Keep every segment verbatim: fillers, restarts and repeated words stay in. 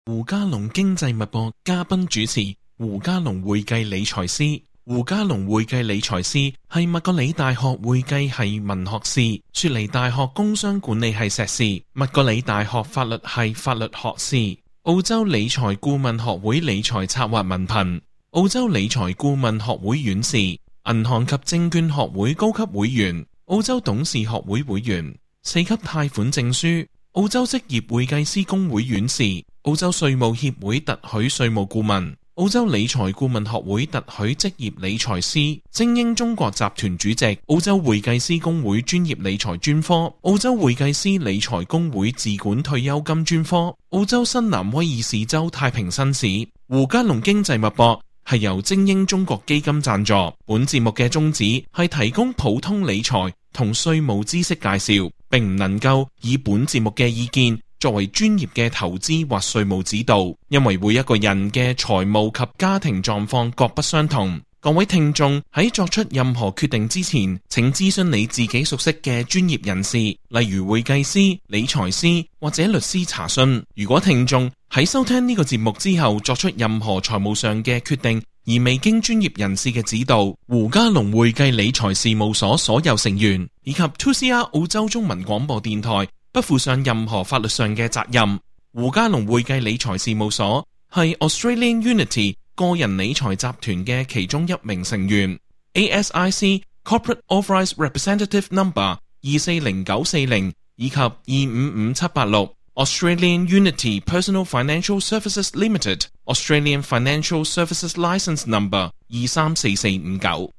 胡嘉龍經濟脈搏嘉賓主持胡嘉龍會計理財師。胡嘉龍會計理財師係麥格里大學會計系文學士，雪梨大學工商管理系碩士，麥格里大學法律系法律學士，澳洲理財顧問學會理財策劃文憑，澳洲理財顧問學會院士，銀行及證券學會高級會員，澳洲董事學會會員，四級貸款證書，澳洲職業會計師公會院士，澳洲稅務協會特許稅務顧問，澳洲理財顧問學會特許職業理財師，精英中國集團主席，澳洲會計師公會專業理財專科，澳洲會計師理財公會自管退休金專科，澳洲新南威爾士州太平紳士。胡嘉龍經濟脈搏係由精英中國基金贊助，本節目嘅宗旨係提供普通理財同稅務知識介紹，並唔能夠以本節目嘅意見作為專業嘅投資或稅務指導，因為每一個人嘅財務及家庭狀況各不相同。各位聽眾喺作出任何決定之前，請諮詢你自己熟悉嘅專業人士，例如會計師、理財師或者律師查詢。如果聽眾喺收聽呢個節目之後作出任何財務上嘅決定，而未經專業人士嘅指導，胡嘉龍會計理財事務所所有成員以及 two C R 澳洲中文廣播電台不負上任何法律上嘅責任。胡嘉龍會計理財事務所係 Australian Unity 個人理財集團嘅其中一名成員 ，A S I C Corporate Authorised Representative Number 二四零九四零以及二五五七八六 Australian Unity Personal Financial Services Limited Australian Financial Services Licence Number 二三四四五九。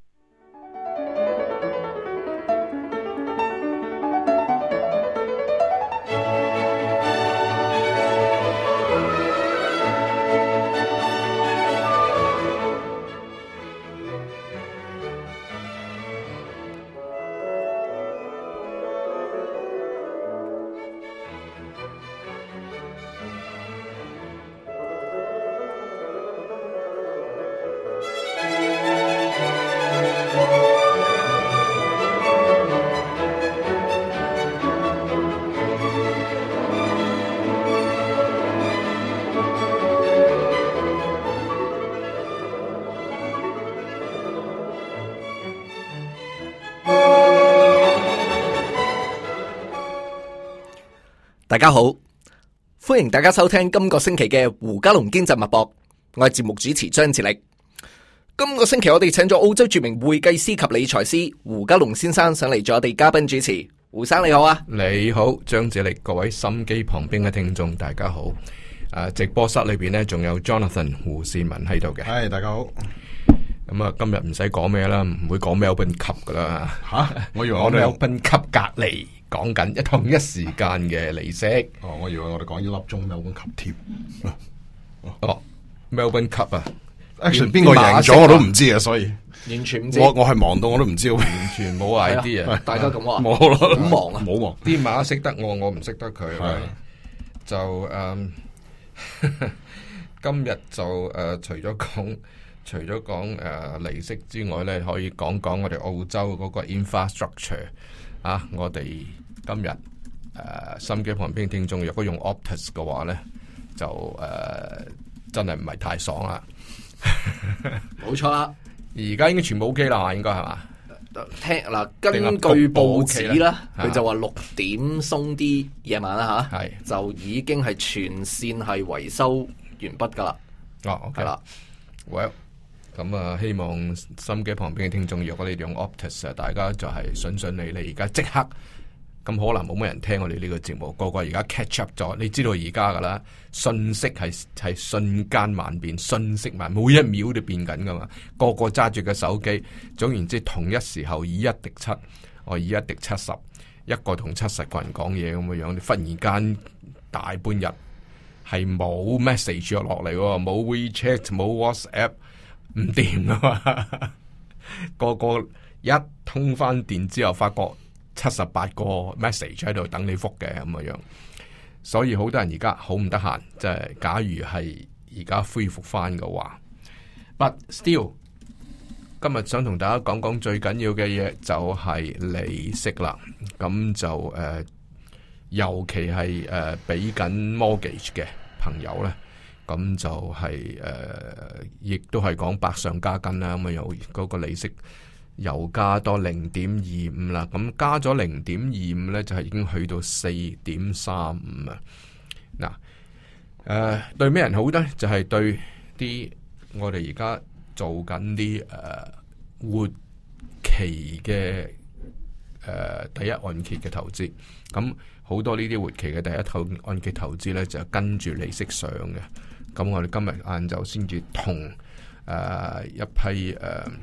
大家好，歡迎大家收聽今個星期嘅胡嘉龍經濟脈搏，我係節目主持張志力。今個星期我哋請咗澳洲著名會計師及理財師胡嘉龍先生上嚟做我哋嘉賓主持。胡生你好啊！ 你好，張志力，各位心機旁邊嘅聽眾大家好。誒，直播室裏邊呢仲有 Jonathan 胡善文喺度嘅。 係，大家好。 咁啊，今日唔使講咩啦，唔會講 Melbourne Cup 噶啦。吓，我以為我哋 Melbourne Cup 隔離。講緊一同一時間嘅利息。 哦，我以為我哋講一粒鐘 Melbourne Cup 添。 哦 Melbourne Cup 啊 ，Actually 邊個贏咗我都唔知啊，所以完全唔知。 我我係忙到我都唔知， 完全冇 idea 啊！ 大家咁話， 冇咯， 好忙啊， 冇忙。 啲馬識得我，我唔識得佢。係就誒，今日就誒，除咗講除咗講誒利息之外咧，可以講講我哋澳洲嗰個 infrastructure 啊，我哋。今日誒、呃，心機旁邊聽眾，若果用 Optus 嘅話咧，就誒、呃、真係唔係太爽啦。 冇錯啦， 而家應該全部 OK 啦，應該係嘛？ 聽嗱，根據報紙啦，佢就話六點鬆啲夜晚啦吓，係就已經係全線係維修完畢噶啦。 哦 OK 啦 ，Well，咁啊，希望心機旁邊嘅聽眾，若果你哋用 Optus 啊，大家就係順順利利，而家即刻。咁可能冇乜人聽我哋呢個節目，個個而家 catch up 咗。你知道而家噶啦，信息係係瞬間萬變，信息萬每一秒都變緊噶嘛。個個揸住個手機，總言之，同一時候以一敵七，我以一敵七十，一個同七十個人講嘢咁嘅樣。你忽然間大半日係冇 message 落嚟，冇 WeChat，冇 WhatsApp， 唔掂噶嘛。個個一通翻電之後，發覺。七十八個 message 喺度等你覆嘅咁嘅樣，所以好多人而家好唔得閒，即係假如係而家恢復翻嘅話 ，but still 今日想同大家講講最緊要嘅嘢就係利息啦。咁就誒、呃，尤其係誒俾緊 mortgage 嘅朋友咧， 咁就係、是、誒、呃，亦都係講百上加斤啦。咁啊，有嗰個利息又加多零點二五啦。咁加咗零點二五咧，就係、是、已經去到四點三五啊。嗱，誒，對咩人好咧？就係、是、對啲我哋而家做緊啲誒活期嘅誒、呃、第一按揭嘅投資。咁好多呢啲活期嘅第一套按揭投資咧，就跟住利息上嘅。咁我哋今日晏晝先至同誒一批誒誒、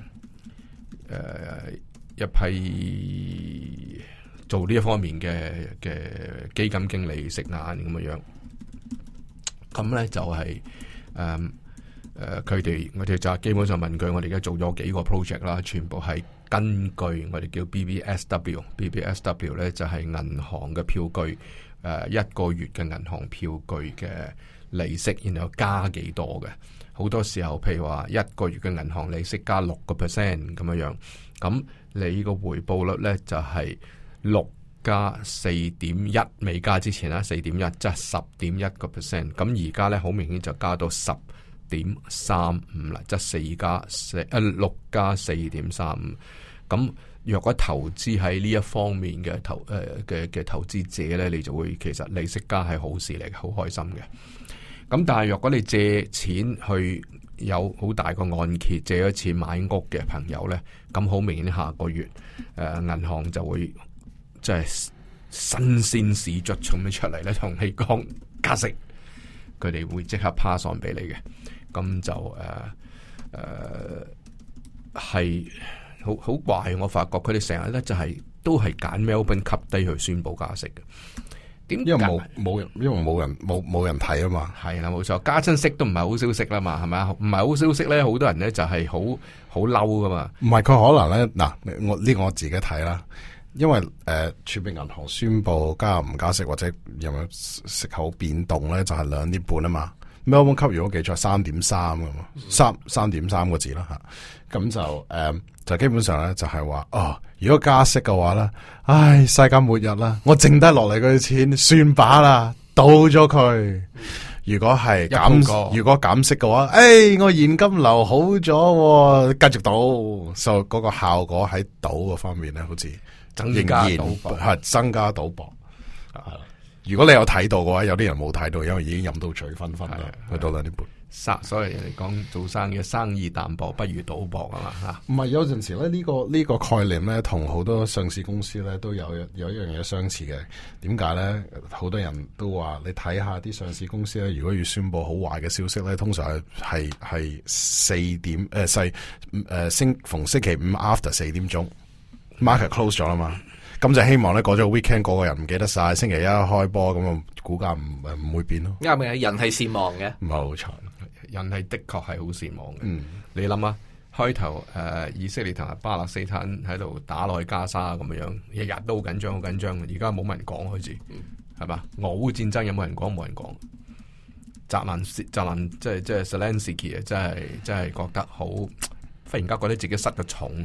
呃、一批做呢一方面嘅嘅基金經理食晏咁嘅樣。咁咧就係誒誒佢哋我哋就基本上問佢，我哋而家做咗幾個 project 啦，全部係根據我哋叫 B B S W，B B S W 咧就係銀行嘅票據，誒、呃、一個月嘅銀行票據嘅利息，然後加幾多嘅。好多時候譬如話一個月嘅銀行利息加六個 percent 咁樣樣，咁你個回報率咧就係六加四點一，未加之前啦，四點一即係十點一個 percent。咁而家咧好明顯就加到十點三五啦，即係四加四誒六加四點三五。咁若果投資喺呢一方面嘅投誒嘅嘅投資者咧，你就會其實利息加係好事嚟，好開心嘅。咁但係若果你借錢去有好大個按揭，借咗錢買屋嘅朋友咧，咁好明顯下個月誒、呃、銀行就會即係新鮮事卒咁樣出嚟咧，同你講加息，佢哋會即刻 pass on 俾你嘅。咁就誒誒係好好怪，我發覺佢哋成日咧就係、是、都係揀 Melbourne Cup Day 去宣佈加息嘅。點？因為冇冇人，因為冇人冇冇人睇啊嘛。係啦，冇錯，加親息都唔係好消息啦嘛，係咪啊？唔係好消息咧，好多人咧就係好好嬲噶嘛。唔係佢可能咧嗱，我呢、這個我自己睇啦，因為誒儲備銀行宣佈加唔加息或者有冇息口變動咧，就係兩點半啊嘛。Melbourne Cup如果記錯三點三噶嘛，三三點三個字啦吓，咁就誒、呃、就基本上咧就係話哦，如果加息嘅話咧，唉，世界末日啦，我剩低落嚟嗰啲錢算把啦，倒咗佢。如果係減，如果減息嘅話，誒、哎，我現金流好咗，繼續倒，所以嗰個效果喺賭嗰方面咧，好似仍然係增加賭博啊。如果你有睇到嘅話，有啲人冇睇到，因為已經飲到醉醺醺啦，去到兩點半。生，所以人哋講做生意，生意淡薄不如賭博啊嘛吓。唔係有陣時咧，呢、這個呢、這個概念咧，同好多上市公司咧都有有一樣嘢相似嘅。點解咧？好多人都話你睇下啲上市公司咧，如果要宣布好壞嘅消息咧，通常係係係四點誒細誒星逢星期五 after 四點鐘 market close 咗啦嘛。咁就希望咧，過咗個 weekend，個個人唔記得晒，星期一開波咁啊，股價唔唔會變咯。啱嘅，人係善忘嘅，冇錯，人係的確係好善忘嘅。嗯，你諗下，開頭誒、呃，以色列同埋巴勒斯坦喺度打落去加沙咁樣樣，日日都好緊張，好緊張。而家冇乜人講開始，係嘛？俄烏戰爭有冇人講？冇人講。澤連澤連即係即係 Zelensky 啊，真係真係覺得好，忽然間覺得自己失咗重。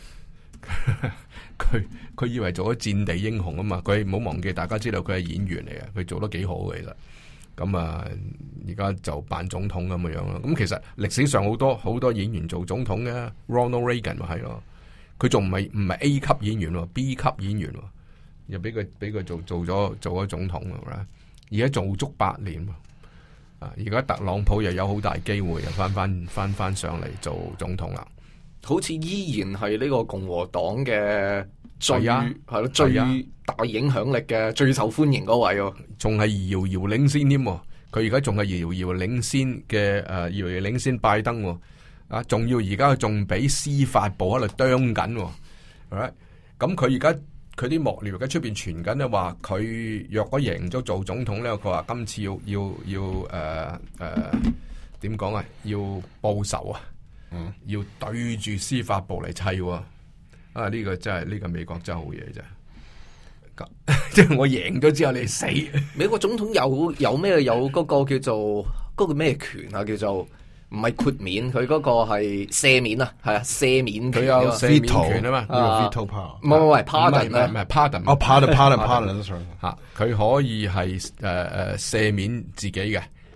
佢佢以為做咗戰地英雄啊嘛，佢唔好忘記，大家知道佢係演員嚟嘅，佢做得幾好嘅其實。咁啊，而家就扮總統咁嘅樣咯。咁其實歷史上好多好多演員做總統嘅，Ronald Reagan 咪係咯，佢仲唔係唔係 A 級演員喎 ，B 級演員喎，又俾佢俾佢做做咗做咗總統啦，而家做足八年。啊，而家特朗普又有好大機會又翻翻翻翻上嚟做總統啦。好似依然係呢個共和黨嘅最係咯最大影響力嘅最受歡迎嗰位喎，仲係遙遙領先添。佢而家仲係遙遙領先嘅誒，遙遙領先拜登。啊，仲要而家仲俾司法部喺度啄緊。咁佢而家佢啲幕僚喺出邊傳緊咧，話佢若果贏咗做總統咧，佢話今次要要要誒誒點講啊？要報仇啊！嗯，要對住司法部嚟砌喎，啊呢、這個真係呢、這個美國真係好嘢啫，即係我贏咗之後你死。美國總統有有咩有嗰個叫做嗰、那個咩權啊？叫做唔係豁免，佢嗰個係赦免啊，係啊赦免權，佢有赦免權啊嘛，呢個 veto power。唔係唔係 pardon 咧，唔係 pardon，哦 pardon pardon pardon 吓，佢可以係誒誒赦免自己嘅。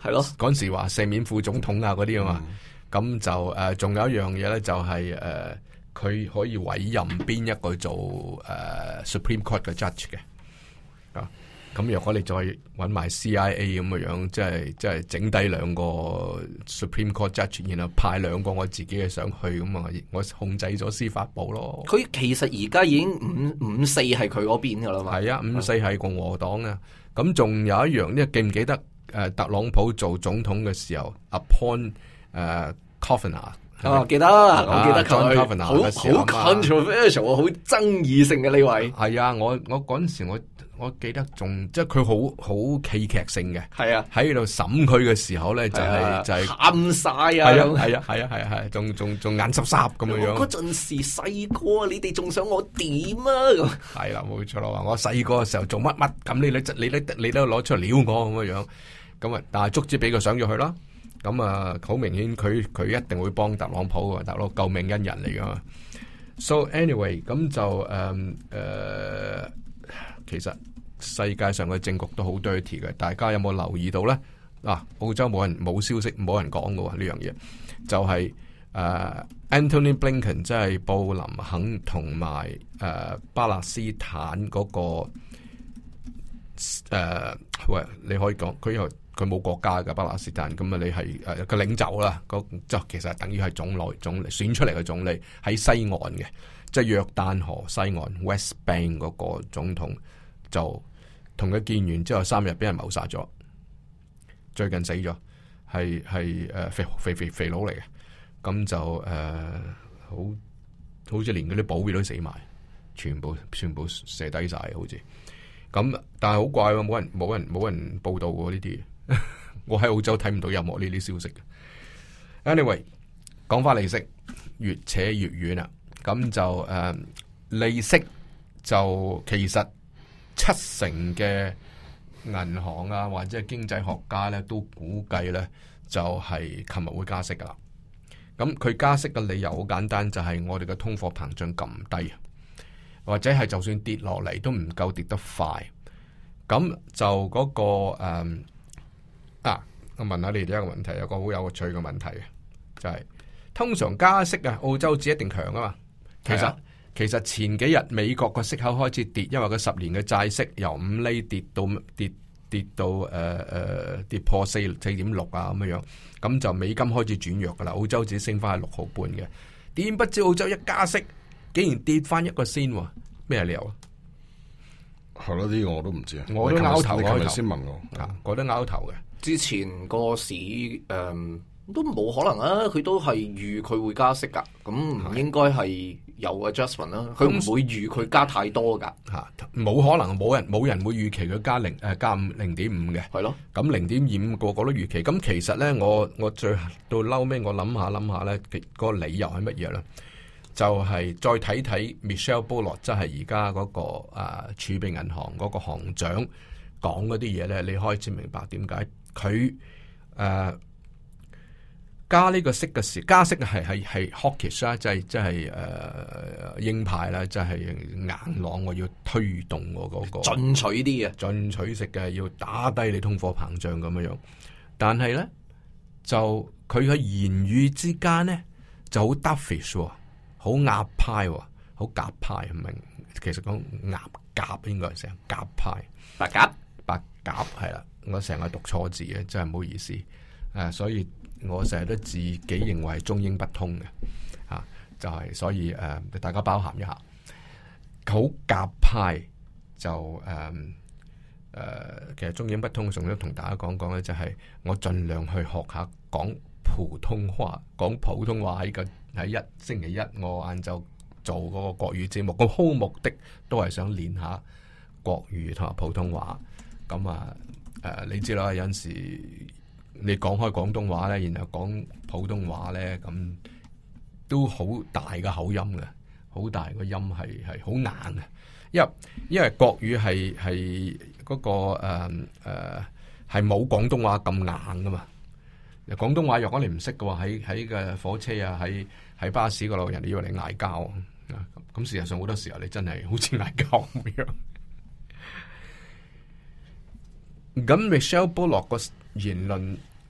係咯， 嗰陣時話赦免副總統啊嗰啲啊嘛，咁、嗯、就誒仲、呃、有一樣嘢咧，就係誒佢可以委任邊一個做誒、呃、Supreme Court 嘅 judge 嘅啊。咁若果你再揾埋 C I A 咁嘅樣，即係即係整低兩個 Supreme Court judge，然後派兩個我自己嘅上去，咁啊，我控制咗司法部咯。 佢其實而家已經五五四係佢嗰邊噶啦嘛。係啊，五四係共和黨啊。咁仲有一樣，呢記唔記得誒特朗普做總統嘅時候 appoint 誒 Kavanaugh？ 哦，記得，我記得佢， 好好 controversial，好爭議性嘅呢位。 係啊，我我嗰陣時我我記得仲即係佢好好戲劇性嘅。係啊，喺度審佢嘅時候咧，就係就係喊晒啊！係啊，係啊，係啊，係啊，係，仲仲仲眼濕濕咁樣樣。 嗰陣時細個，你哋仲想我點啊？咁係啦，冇錯啦，話我細個嘅時候做乜乜，咁你你你你你都攞出嚟撩我咁樣樣，咁啊，但係足之俾佢上咗去啦。咁啊，好明顯佢佢一定會幫特朗普嘅，大佬救命恩人嚟噶嘛。So anyway，咁就誒誒、嗯呃，其實世界上嘅政局都好 dirty 嘅，大家有冇留意到咧？啊，澳洲冇人冇消息，冇人講嘅呢樣嘢，就係、是、誒、呃、Antony Blinken 即係布林肯同埋誒巴勒斯坦嗰、那個誒、呃，喂，你可以講佢又。佢冇國家嘅巴勒斯坦，咁啊你係誒個領袖啦，個即係其實等於係總理總理選出嚟嘅總理喺西岸嘅，即係約旦河西岸 West Bank 嗰個總統，就同佢見完之後三日俾人謀殺咗，最近死咗，係係誒肥肥肥肥佬嚟嘅，咁就誒、呃、好好似連嗰啲保鏢都死埋，全部全部射低晒好似，咁但係好怪喎，冇人冇人冇人報道過呢啲。我喺澳洲睇唔到任何呢啲消息嘅。Anyway， 講翻利息越扯越遠啦。咁就誒、呃，利息就其實七成嘅銀行啊或者係經濟學家咧都估計咧就係琴日會加息噶啦。咁佢加息嘅理由好簡單，就係我哋嘅通貨膨脹咁低，或者係就算跌落嚟都唔夠跌得快。咁就嗰、那個誒。呃啊！我問下你哋一個問題，有個好有趣嘅問題嘅，就係、是、通常加息啊，澳洲指一定強啊嘛。其實、啊、其實前幾日美國個息口開始跌，因為佢十年嘅債息由五厘跌到跌跌到誒誒、呃、跌破四四點六啊咁樣樣，咁就美金開始轉弱噶啦。澳洲指升翻係六毫半嘅，點不知澳洲一加息，竟然跌翻一個先，咩理由啊？ 係咯，呢個我都唔知啊。 我都拗頭， 你琴日先問我， 啊，我都拗頭嘅。 之前個市誒、嗯、都冇可能啊，佢都係預佢會加息噶，咁唔應該係有 adjustment 啦。佢唔會預佢加太多噶， 吓冇可能，冇人冇人會預期佢加零誒加五零點五嘅，係咯。咁零點二五個個都預期。咁其實咧，我我最到嬲尾，我諗下諗下咧，個理由係乜嘢咧？就係、是、再睇睇 Michelle Bullock，即係而家嗰個誒、啊、儲備銀行嗰個行長講嗰啲嘢咧，你開始明白點解。佢誒、呃、加呢個息嘅時，加息係係係 hawkish 啦，即係即係誒鷹派啦，即係硬朗，我要推動我嗰、那個進取啲嘅， 進取式嘅，要打低你通貨膨脹咁樣樣。但係咧，就佢嘅言語之間咧就好 dovish，好鴿派，好鴿派，唔明？其實講鴿鴿應該係成鴿派， 白鴿白鴿係啦。我成日讀錯字嘅，真係唔好意思。誒、啊，所以我成日都自己認為係中英不通嘅，吓、啊、就係、是、所以誒、呃，大家包涵一下。好鴿派就誒誒、呃呃，其實中英不通，仲要同大家講講咧，就係我盡量去學下講普通話，講普通話喺個喺一星期一我晏晝做嗰個國語節目，個好目的都係想練下國語同埋普通話。咁啊。誒、呃，你知啦，有陣時你講開廣東話咧，然後講普通話咧，咁都好大嘅口音嘅，好大個音係係好硬嘅。因為因為國語係係嗰個誒誒係冇廣東話咁硬噶嘛。廣東話若果你唔識嘅話，喺喺個火車啊，喺喺巴士嗰度，人哋以為你嗌交啊。咁事實上好多時候你真係好似嗌交咁樣。咁 Michelle Bullock 個言論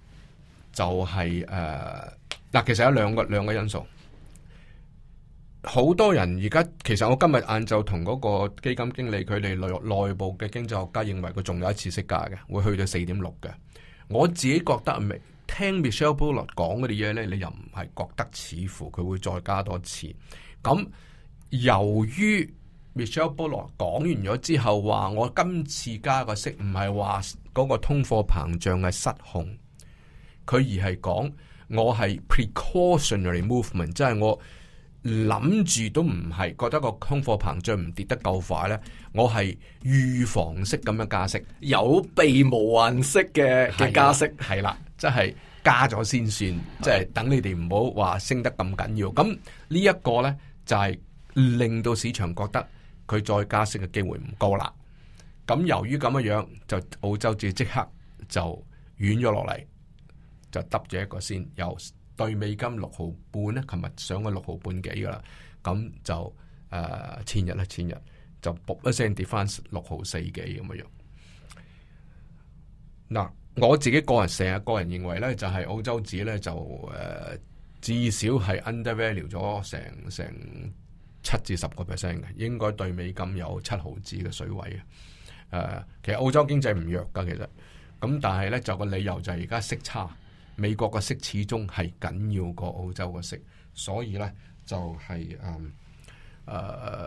就係誒嗱，其實有兩個兩個因素。好多人而家其實我今日晏晝同嗰個基金經理佢哋內內部嘅經濟學家認為佢仲有一次息加嘅，會去到四點六嘅。我自己覺得未聽 Michelle Bullock 講嗰啲嘢咧，你又唔係覺得似乎佢會再加多次。咁由於 Michelle Bullock 講完咗之後話，我今次加個息唔係話嗰個通貨膨脹係失控，佢而係講我係 precautionary movement， 即係我諗住都唔係覺得個通貨膨脹唔跌得夠快咧，我係預防式咁樣加息， 有備無患式嘅嘅加息， 係啦，即係加咗先算，即係等你哋唔好話升得咁緊要。咁呢一個咧就係令到市場覺得佢再加息嘅機會唔高啦。咁由於咁樣樣，就澳洲紙即刻就軟咗落嚟，就揼咗一個先由。對美金六毫半咧，琴日上咗六毫半幾噶啦，咁就誒、呃、前日咧，前日就卜一聲跌翻六毫四幾咁嘅樣。嗱，我自己個人成日個人認為咧，就係、是、澳洲紙咧就誒、呃、至少係 undervalue 咗成成七至十個 percent 嘅，應該對美金有七毫子嘅水位嘅。誒、呃，其實澳洲經濟唔弱噶，其實咁，但係咧就個理由就係而家息差。美國嘅息始終係緊要過澳洲嘅息，所以咧就係誒誒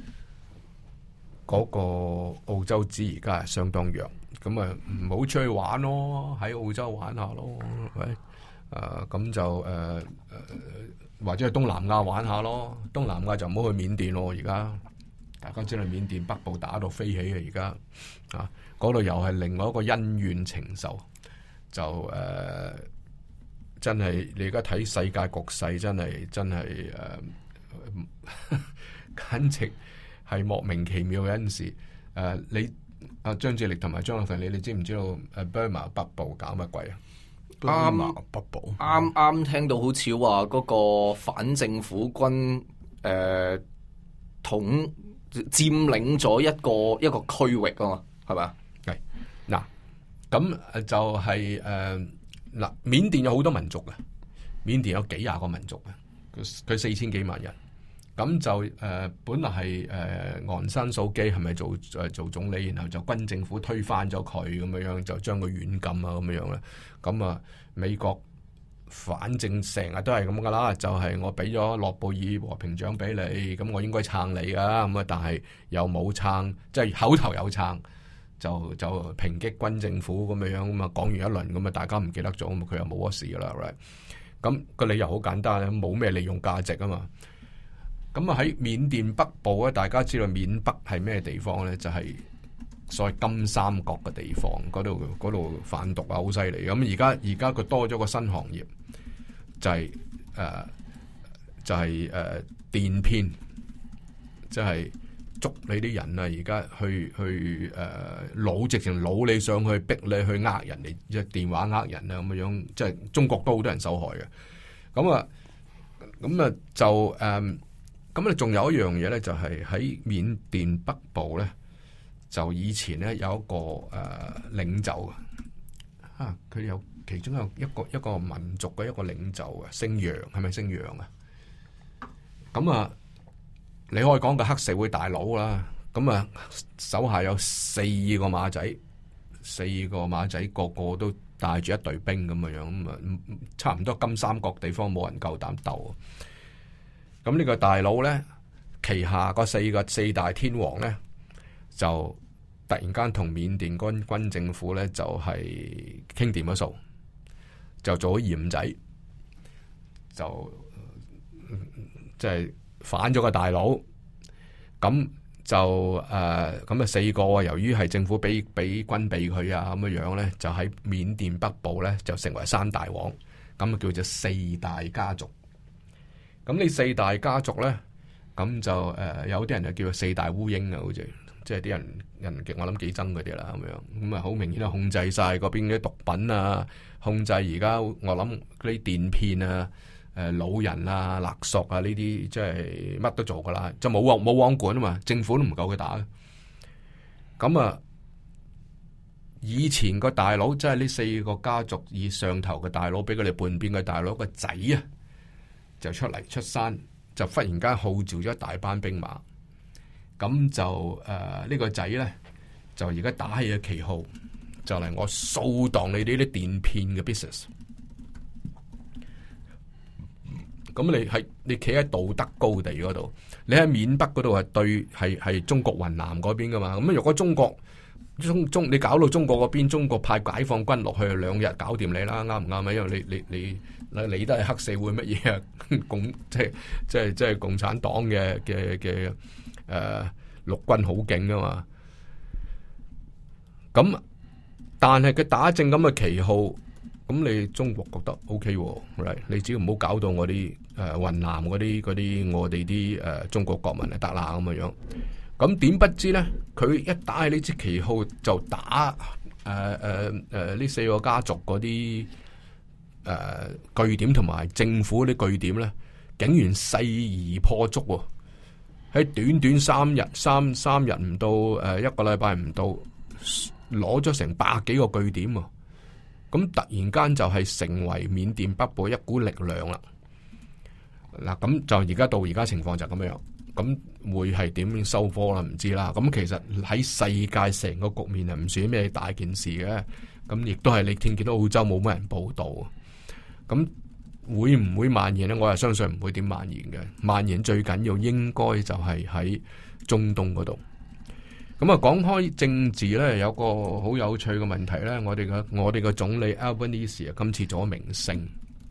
嗰個澳洲紙而家係相當弱，咁啊唔好出去玩咯，喺澳洲玩下咯，係咪？誒咁就誒誒、呃、或者去東南亞玩下咯，東南亞就唔好去緬甸咯，而家大家知道緬甸北部打到飛起啊，而家啊嗰度又係另外一個恩怨情仇。就誒、呃，真係你而家睇世界局勢，真係真係誒、呃，簡直係莫名其妙嘅陣時。誒、呃，你阿張志力同埋張立凡，你你知唔知道誒 Burma 北部搞乜鬼啊？ 啱北部啱啱聽到好似話嗰個反政府軍誒、呃、統佔領咗一個一個區域啊嘛，係咪？ 係嗱。咁就係誒嗱，緬甸有好多民族嘅，緬甸有幾廿個民族嘅，佢佢四千幾萬人。咁就誒、呃、本來係誒昂山素姬係咪做誒、呃、做總理，然後就軍政府推翻咗佢咁樣樣，就將佢軟禁啊咁樣樣咧。咁啊美國反正成日都係咁噶啦，就係、是、我俾咗諾貝爾和平獎俾你，咁我應該撐你噶，咁啊但係又冇撐，即係口頭有撐。就就抨擊軍政府咁樣樣咁啊，講完一輪咁啊，大家唔記得咗，咁佢又冇乜事噶啦，right？咁個理由好簡單，冇咩利用價值啊嘛。咁啊喺緬甸北部咧，大家知道緬北係咩地方咧？就係、是、所謂金三角嘅地方，嗰度嗰度販毒啊，好犀利。咁而家而家佢多咗個新行業，就係、是、誒、呃、就係、是、誒、呃、電騙，即係。捉你啲人啊！而家去去誒，攞、呃、直情攞你上去，逼你去呃人哋，即係電話呃人啊咁樣樣，即係中國都好多人受害嘅。咁啊，咁啊就誒，咁啊仲有一樣嘢咧，就係喺緬甸北部咧，就以前咧有一個誒、呃、領袖啊，佢有其中有一個一個民族嘅一個領袖啊，姓楊，係咪姓楊啊？咁啊。你可以講個黑社會大佬啦，咁啊手下有四個馬仔，四個馬仔個個都帶住一隊兵咁嘅樣，咁啊差唔多金三角地方冇人夠膽鬥。咁呢個大佬咧，旗下個四個四大天王咧，就突然間同緬甸軍軍政府咧就係傾掂咗數，就做咗鹽仔，就即係。就是反咗個大佬，咁就誒，咁、呃、啊四個由於係政府俾俾軍備佢啊，咁樣樣咧，就喺緬甸北部咧就成為三大王，咁啊叫做四大家族。咁呢四大家族咧，咁就誒、呃、有啲人就叫做四大烏蠅啊，好似即係啲人人極我諗幾憎佢哋啦，咁樣咁啊好明顯啊控制晒嗰邊啲毒品啊，控制而家我諗嗰啲電騙啊。誒，老人啊、勒索啊呢啲，即係乜都做噶啦，就冇王冇王管啊嘛，政府都唔夠佢打嘅。咁啊， 以前個大佬，即係呢四個家族以上頭嘅大佬，俾佢哋叛變嘅大佬個仔啊，就出嚟出山，就忽然間號召咗一大班兵馬，咁就誒呢、呃這個仔咧，就而家打起咗旗號，就嚟我掃蕩你哋呢啲電騙嘅 business。咁你係你企喺道德高地嗰度，你喺緬北嗰度係對係係中國雲南嗰邊噶嘛？咁如果中國中中你搞到中國嗰邊，中國派解放軍落去兩日搞掂你啦，啱唔啱啊？因為你你你你都係黑社會乜嘢啊？共即係即係即係共產黨嘅嘅嘅誒陸軍好勁噶嘛？咁但係佢打正咁嘅旗號，咁你中國覺得 OK 喎，right？你只要唔好搞到我啲誒雲南嗰啲嗰啲我哋啲誒中國國民就得啦咁嘅樣。咁點不知咧？佢一打起呢支旗號就打誒誒誒呢四個家族嗰啲誒據點同埋政府啲據點咧，竟然勢而破竹喎！喺短短三日三三日唔到誒一個禮拜唔到，攞咗成百幾個據點喎！咁突然間就係成為緬甸北部一股力量啦！嗱，咁就而家到而家情況就咁樣。咁會係點樣收科啦？唔知啦。咁其實喺世界成個局面係唔算咩大件事嘅。咁亦都係你聽見到澳洲冇乜人報道。咁會唔會蔓延呢？我係相信唔會點蔓延嘅。蔓延最緊要應該就係喺中東嗰度。咁啊，講開政治呢，有個好有趣嘅問題呢。我哋嘅我哋嘅總理 Albanese 啊，今次做咗明星，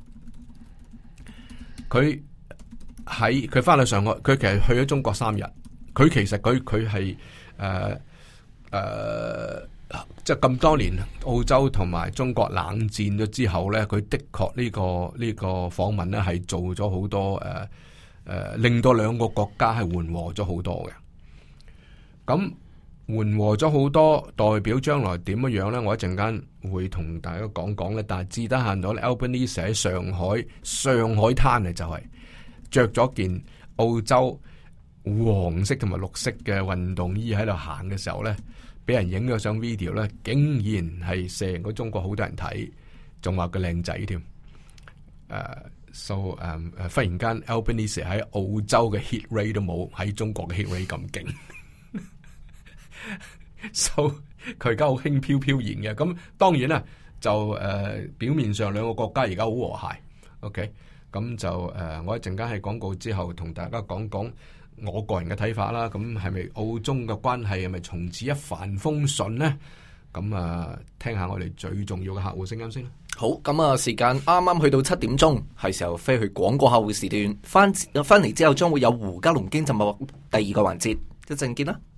佢。喺佢翻去上海，佢其實去咗中國三日。佢其實佢佢係誒誒，即係咁多年澳洲同埋中國冷戰咗之後咧，佢的確呢、呢個呢、呢個訪問咧係做咗好多誒誒、呃呃，令到兩個國家係緩和咗好多嘅。咁緩和咗好多，代表將來點樣樣咧？我一陣間會同大家講講咧。但係至得閒到咧 Albanese 喺上海上海灘啊，就係、是。着咗件澳洲黃色同埋綠色嘅運動衣喺度行嘅時候咧，俾人影咗上 video 咧，竟然係成個中國好多人睇，仲話佢靚仔添。誒、uh,，so 誒、um, 誒，忽然間 Albanese 喺澳洲嘅 hit rate 都冇喺中國嘅 hit rate 咁勁。so 佢而家好輕飄飄然嘅，咁當然啦，就誒、uh, 表面上兩個國家而家好和諧。OK。咁就誒、呃，我一陣間喺廣告之後同大家講講我個人嘅睇法啦。咁係咪澳中嘅關係係咪從此一帆風順呢？咁啊，聽下我哋最重要嘅客戶聲音先啦。 好，咁啊，時間啱啱去到七點鐘，係時候飛去廣告客戶時段。翻翻嚟之後，將會有胡嘉龍經濟脈第二個環節，一陣見啦。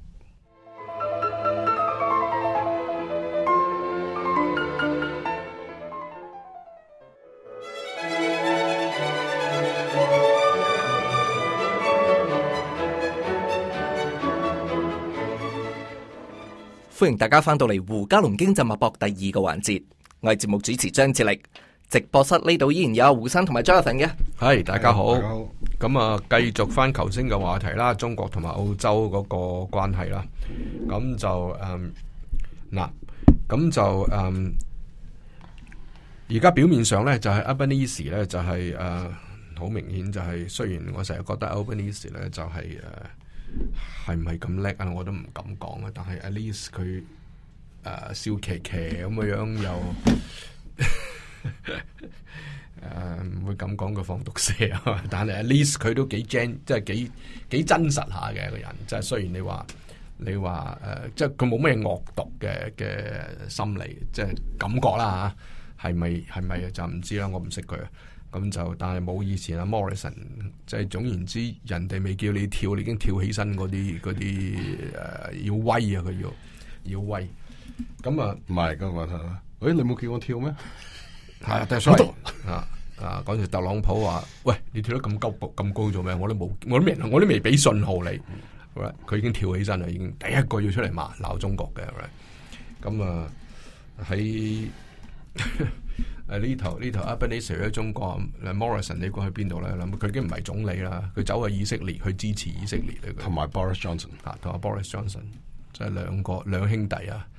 歡迎大家翻到嚟胡嘉龍經濟脈搏第二個環節，我係節目主持張志力。直播室呢度依然有胡生同埋 Jonathan 嘅。 係，大家好。 好。 咁啊，繼續翻頭先嘅話題啦，中國同埋澳洲嗰個關係啦。咁就誒嗱，咁、嗯、就誒，而、嗯、家表面上咧就係 Albanese 咧就係誒好明顯就係、是，雖然我成日覺得 Albanese 咧就係、是、誒。呃係唔係咁叻啊？我都唔敢講啊！但係 at least 佢誒、呃、笑騎騎咁嘅樣又誒唔會咁講佢放毒蛇啊！但係 at least 佢都幾 gen，即係幾幾真實下嘅一個人。即係雖然你話你話誒、呃，即係佢冇咩惡毒嘅嘅心理，即係感覺啦吓，係咪係咪就唔知啦？我唔識佢。咁就，但係冇以前阿 Morrison，即係總言之，人哋未叫你跳，你已經跳起身嗰啲嗰啲誒要威啊！佢要要威。咁啊， 唔係咁話誒，你冇叫我跳咩？ 係啊，但係所以啊啊，嗰時特朗普話：喂，你跳得咁高咁高做咩？我都冇，我都未，我都未俾信號你。佢、right? 已經跳起身啦，已經第一個要出嚟罵鬧中國嘅。咁、right? 啊喺。誒呢頭呢頭 Albanese 喺中國 ，Morrison 你估去邊度咧？諗佢已經唔係總理啦，佢走去以色列去支持以色列嚟嘅。 同埋 Boris Johnson 啊，同埋 Boris Johnson，即係兩個兩兄弟啊，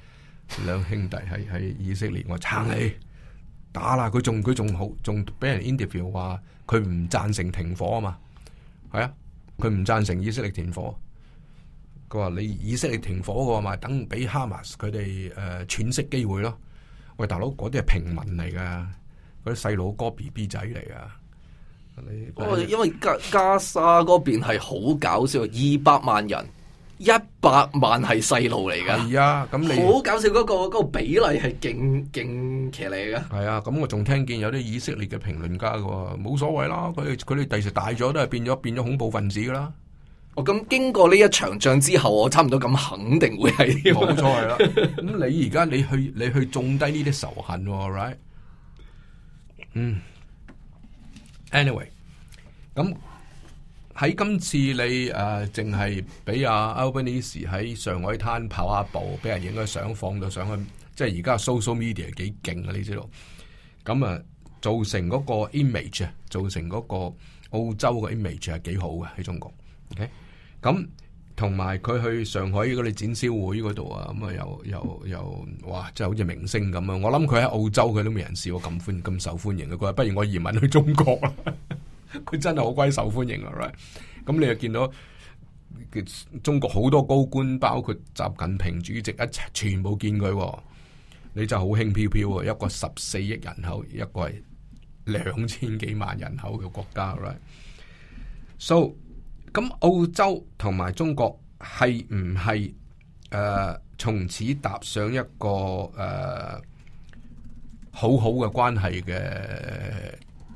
兩兄弟喺喺以色列，我撐你打啦！佢仲佢仲好，仲俾人 interview 話佢唔贊成停火啊嘛，係啊，佢唔贊成以色列停火。佢話你以色列停火嘅話，咪等俾哈馬斯佢哋誒喘息機會咯。喂，大佬，嗰啲係平民嚟噶，嗰啲細佬哥 B B 仔嚟噶。 哦，因為加加沙嗰邊係好搞笑，二百萬人，一百萬係細路嚟噶。 係啊，咁你好搞笑嗰、嗰個、嗰個比例係勁勁騎呢噶。 係啊，咁我仲聽見有啲以色列嘅評論家嘅，冇所謂啦，佢哋佢哋第時大咗都係變咗變咗恐怖分子噶啦。 哦，咁經過呢一場仗之後，我差唔多咁肯定會係冇錯係啦。咁你而家你去你去種低呢啲仇恨，right？ 嗯。Anyway， 咁喺今次你誒淨係俾阿 Albanese 喺上海灘跑下步，俾人影咗相放到上去，即係而家 social media 幾勁啊！你知道，咁啊造成嗰個 image 啊，造成嗰個澳洲嘅 image 係幾好嘅喺中國。OK，咁同埋佢去上海嗰啲展銷會嗰度啊，咁啊又又又哇，即係好似明星咁啊！我諗佢喺澳洲佢都未人試過咁歡咁受歡迎嘅。佢話不如我移民去中國啦，佢真係好鬼受歡迎啊！ right？ 咁你又見到中國好多高官，包括習近平主席一齊全部見佢，你就好輕飄飄啊！一個十四億人口，一個係兩千幾萬人口嘅國家 ，right？So 咁澳洲同埋中國係唔係誒從此踏上一個誒、呃、好好嘅關係嘅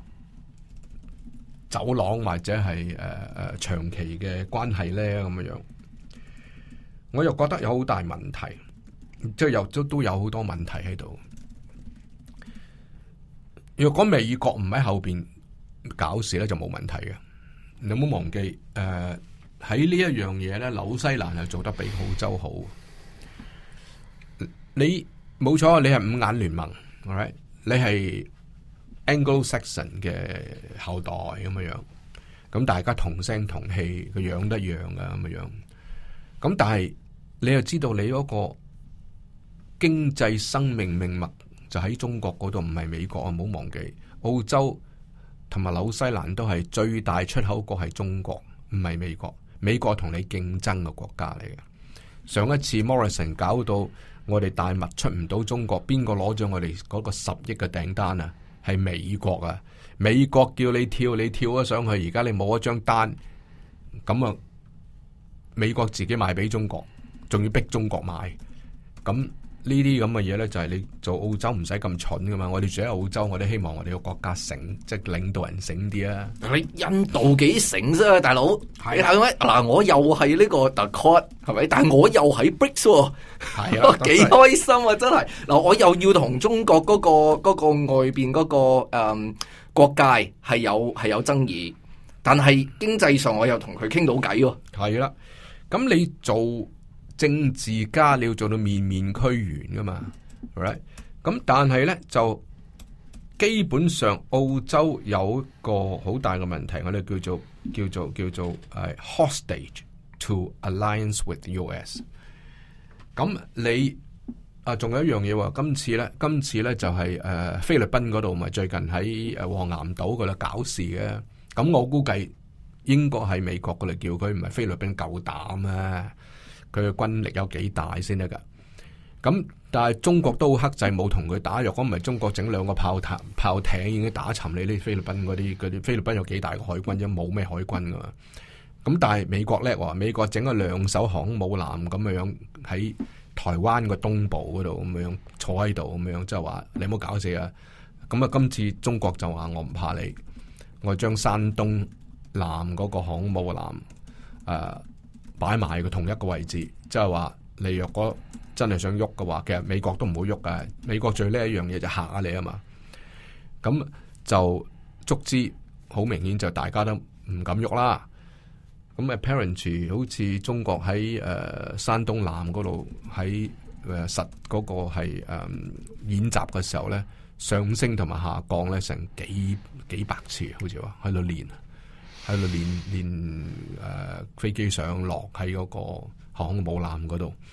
走廊，或者係誒誒長期嘅關係咧？咁樣樣，我又覺得有好大問題，即係又都都有好多問題喺度。若果美國唔喺後邊搞事咧，就冇問題嘅。你唔好忘記，誒、呃、喺呢一樣嘢咧，紐西蘭係做得比澳洲好。你冇錯，你係五眼聯盟 ，alright？ 你係 Anglo-Saxon 嘅後代咁樣樣，咁大家同聲同氣，個樣都一樣噶咁樣樣。咁但係你又知道你嗰個經濟生命命脈就喺中國嗰度，唔係美國啊！唔好忘記澳洲同埋紐西蘭都係最大出口國係中國，唔係美國。美國同你競爭嘅國家嚟嘅。上一次 Morrison 搞到我哋大麥出唔到中國，邊個攞咗我哋嗰個十億嘅訂單啊？係美國啊！美國叫你跳，你跳咗上去，而家你冇一張單，咁啊，美國自己賣俾中國，仲要逼中國買，咁。呢啲咁嘅嘢咧，就係你做澳洲唔使咁蠢噶嘛。我哋住喺澳洲，我哋希望我哋個國家醒，即係領導人醒啲啊。 你印度幾醒啫，大佬係係咪？嗱，我又係呢個 The Quad 係咪？但係我又喺 Bricks 喎，係啊，幾開心啊！真係嗱，我又要同中國嗰個嗰個外邊嗰個誒國界係有係有爭議，但係經濟上我又同佢傾到偈喎。 係啦，咁你做政治家你要做到面面俱圓噶嘛 right？ 咁但係咧就基本上澳洲有一個好大嘅問題，我哋叫做叫做叫做誒 hostage to alliance with U S。咁你啊仲有一樣嘢喎，今次咧今次咧就係、是、誒、呃、菲律賓嗰度咪最近喺誒黃岩島嗰度搞事嘅，咁我估計應該係美國嗰度叫佢，唔係菲律賓夠膽啊！佢嘅軍力有幾大先得噶？咁但係中國都好克制，冇同佢打。若果唔係中國整兩個炮塔炮艇已經打沉你呢菲律賓嗰啲嗰啲菲律賓有幾大嘅海軍啫？冇咩海軍噶嘛。咁但係美國叻喎，美國整咗兩艘航空母艦咁樣喺台灣個東部嗰度咁樣坐喺度咁樣，即係話你唔好搞死啊！咁啊，今次中國就話我唔怕你，我將山東艦嗰個航空母艦誒。呃擺埋個同一個位置，即係話你若果真係想喐嘅話，其實美國都唔會喐㗎。美國最叻一樣嘢就嚇下你啊嘛。咁就足之好明顯就大家都唔敢喐啦。咁 apparently 好似中國喺誒、呃、山東艦嗰度喺誒實嗰個係誒、呃、演習嘅時候咧，上升同埋下降咧成幾幾百次，好似話喺度練。喺度練練誒飛機上落喺嗰個航空母艦嗰度，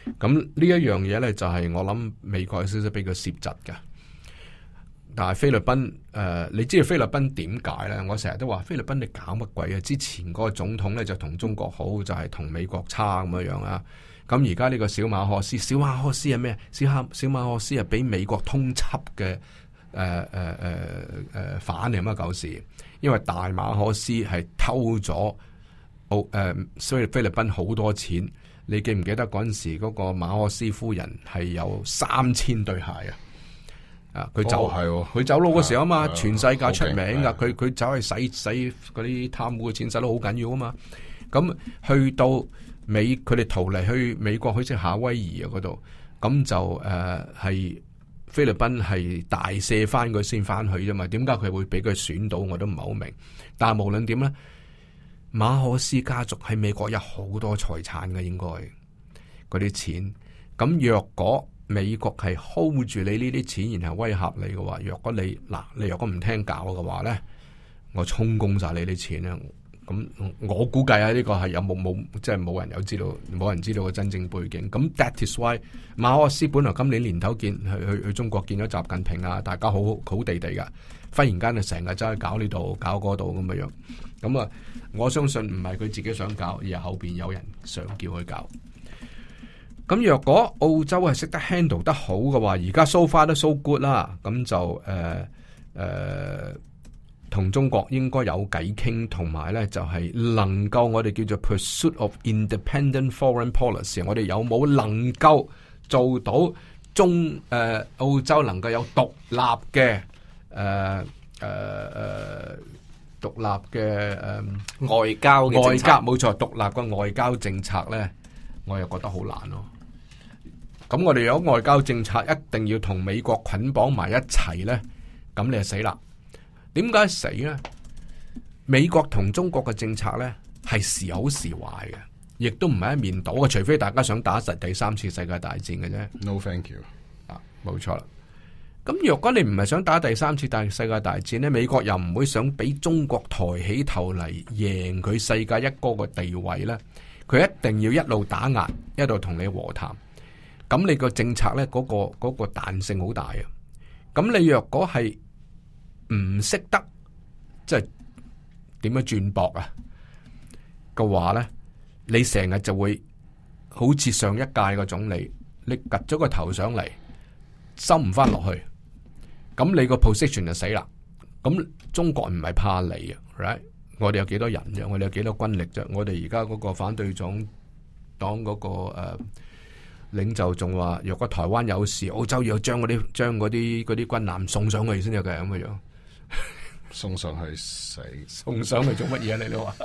咁呢一樣嘢咧就係、是、我諗美國有少少俾佢攝窒嘅。但係菲律賓誒、呃，你知道菲律賓點解咧？我成日都話菲律賓你搞乜鬼啊？之前嗰個總統咧就同中國好，就係、是、同美國差咁樣樣啊。咁而家呢個小馬可斯，小馬可斯係咩？小馬小馬可斯係俾美國通緝嘅誒誒誒誒反嚟乜狗事？因為大馬可斯係偷咗澳誒所以菲律賓好多錢。你記唔記得嗰陣時嗰個馬可斯夫人係有三千對鞋啊？啊，佢走係佢、哦、走佬嗰時候啊嘛，全世界出名噶，佢佢走去洗洗嗰啲貪污嘅錢，洗得好緊要啊嘛。咁去到美，佢哋逃離去美國，去即夏威夷啊嗰度，咁就誒係、呃、菲律賓係大赦翻佢先翻去啫嘛。點解佢會俾佢選到？我都唔係好明。但係無論點咧。馬可斯家族喺美國有好多財產嘅，應該嗰啲錢。咁若果美國係 hold 住你呢啲錢，然後威嚇你嘅話，若果你嗱你若果唔聽教嘅話咧，我充公晒你啲錢咧。咁我估計啊，呢個係有冇冇即係冇人有知道，冇人知道個真正背景。咁 that is why 馬可斯本來今年年頭見去去去中國見咗習近平啊，大家好好地地噶，忽然間就成日走去搞呢度搞嗰度咁嘅樣。咁啊，我相信唔係佢自己想搞，而係後邊有人想叫佢搞。咁若果澳洲係識得 handle 得好嘅話，而家 so far 都 so good 啦，咁就誒誒同中國應該有偈傾，同埋咧就係、是、能夠我哋叫做 pursuit of independent foreign policy， 我哋有冇能夠做到中誒、呃、澳洲能夠有獨立嘅誒誒誒獨立嘅誒、呃、 外交嘅外交冇錯，獨立嘅外交政策咧，我又覺得好難咯。咁我哋有外交政策，一定要同美國捆綁埋一齊咧，咁你就死啦。點解死咧？美國同中國嘅政策咧係時好時壞嘅，亦都唔係一面倒嘅，除非大家想打實第三次世界大戰嘅啫。 No thank you。 啊，冇錯啦。咁若果你唔係想打第三次大世界大戰咧，美國又唔會想俾中國抬起頭嚟贏佢世界一哥嘅地位咧，佢一定要一路打壓，一路同你和談。咁你個政策咧，嗰個嗰個彈性好大啊。咁你若果係唔識得即係點樣轉駁啊嘅話咧，你成日就會好似上一屆個總理，你擳咗個頭上嚟，收唔翻落去。咁你個 position 就死啦。咁中國唔係怕你啊 ，right？ 我哋有幾多人啫？我哋有幾多軍力啫？我哋而家嗰個反對黨黨嗰個誒、呃、領袖仲話，若果台灣有事，澳洲要將嗰啲將嗰啲嗰啲軍艦送上去先有嘅咁嘅樣。 送上去死， 送上去做乜嘢？你都話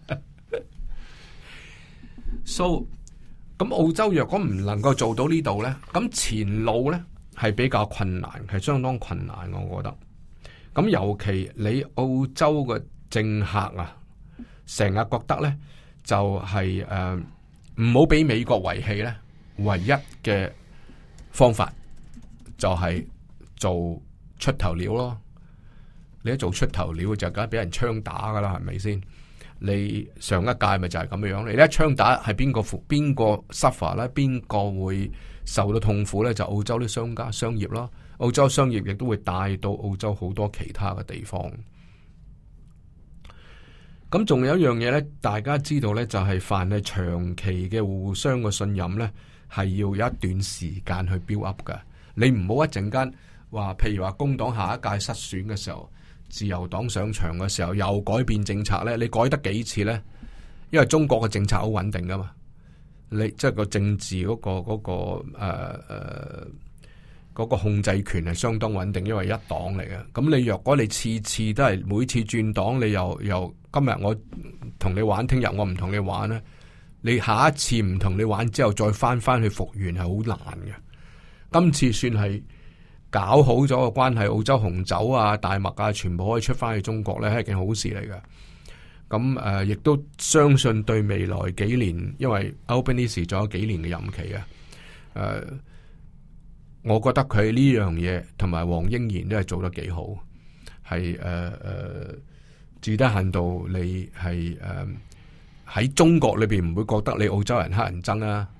，so 咁澳洲若果唔能夠做到呢度咧，咁前路咧係比較困難，係相當困難，我覺得。咁尤其你澳洲嘅政客啊，成日覺得咧就係誒唔好俾美國遺棄咧，唯一嘅方法就係做出頭鳥咯。你一做出頭鳥就梗係俾人槍打噶啦，係咪先？你上一屆咪就係咁樣，你一槍打係邊個負邊個 suffer 咧？邊個會受到痛苦咧？就澳洲啲商家商業咯，澳洲商業亦都會帶到澳洲好多其他嘅地方。咁仲有一樣嘢咧，大家知道咧，就係凡係長期嘅互相嘅信任咧，係要有一段時間去 build up 噶。你唔好一陣間話，譬如話工黨下一屆失選嘅時候，自由黨上場嘅時候又改變政策咧，你改得幾次咧？因為中國嘅政策好穩定噶嘛，你即係個政治嗰、嗰個嗰、嗰個誒誒嗰個控制權係相當穩定，因為一黨嚟嘅。咁你若果你次次都係每次轉黨，你又又今日我同你玩，聽日我唔同你玩咧，你下一次唔同你玩之後再翻翻去復原係好難嘅。今次算係搞好咗個關係，澳洲紅酒啊、大麥啊，全部可以出翻去中國咧，係一件好事嚟嘅。咁誒，亦、呃、都相信對未來幾年，因為 Albanese 仲有幾年嘅任期啊。誒、呃，我覺得佢呢樣嘢同埋黃英賢都係做得幾好，係誒誒，至低限度你係誒喺中國裏邊唔會覺得你澳洲人黑人憎啊。